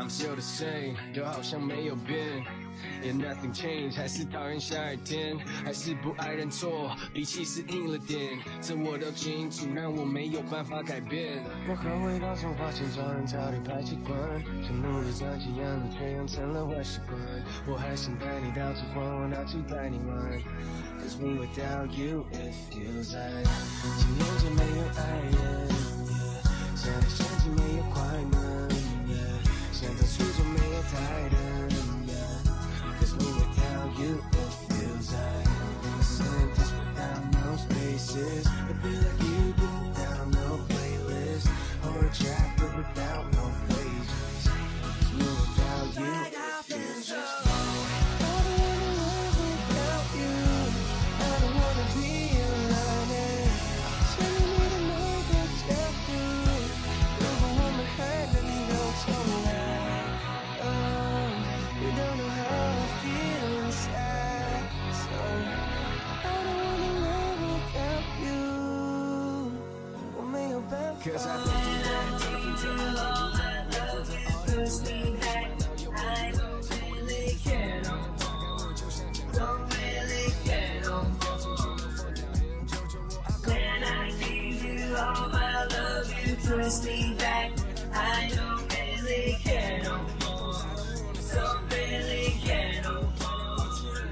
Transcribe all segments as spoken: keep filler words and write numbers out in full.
still the same， 都好像没有变。Yeah, nothing changed， 还是讨厌下雨天，还是不爱认错，脾气是硬了点，这我都清楚，让我没有办法改变。我后悔到从花钱找人早点排气管，想努力赚几样的，却养成了坏习惯。我还想带你到处逛，我到处带你玩。Cause me without you, it feels like 几年前没有爱人， yeah, 现在相机没有快门， yeah, 现在初衷没有台灯。Cause me without you, it feels like a sentence without no spaces. It feel like you do without no playlist, or a chapter without no pages. Cause me without you, it feels like I don't wanna live without you. I don't wanna be alone. Telling me to make a step through. Never want my head and you don't tell me that. Oh, you don't know how I feel inside. So I don't wanna live without you. 我没有办法。Cause I think you want to do all my love you push me back. I don't really care no more. Don't really care no more. When I give you all my love you push me back. I don't really care no more. Don't really care no more.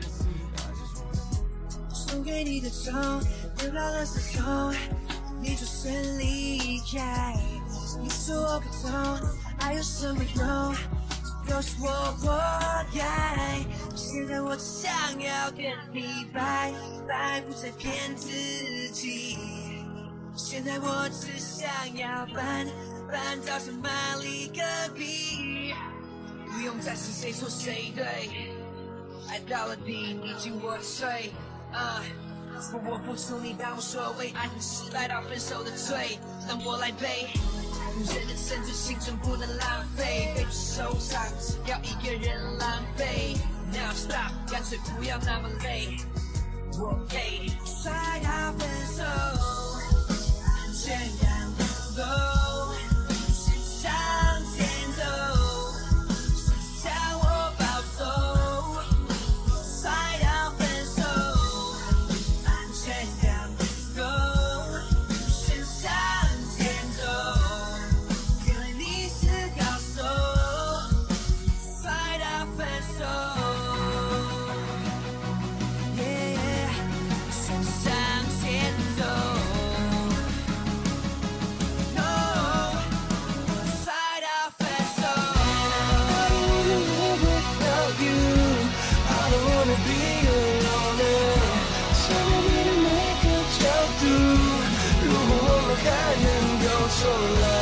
送给你的钟，得到了失踪，你转身离开。你说我不懂，爱有什么用？都是我活该。现在我只想要跟你拜拜，不再骗自己。现在我只想要搬搬到圣玛丽隔壁，不用再是谁错谁对，爱到了底你进我的水。啊、uh, 不我付出你当我说为爱情失败到分手的罪，让我来背。人的生存青春不能浪费，被受伤只要一个人狼狈。Now stop， 干脆不要那么累。我给摔到分手，安全感不够，是向前走，是向我保守。摔到分手，安全感不够，是向前走。原来你是高手，摔到分手。So